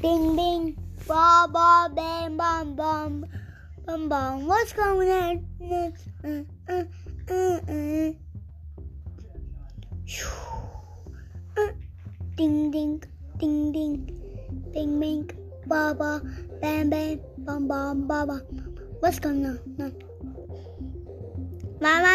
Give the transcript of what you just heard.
Bing bing, ba ba bam bam bam, bam bam. What's going on? Ding ding, ding ding, bing bing, ba ba bam bam, bam bam, ba ba. What's going on? Mama.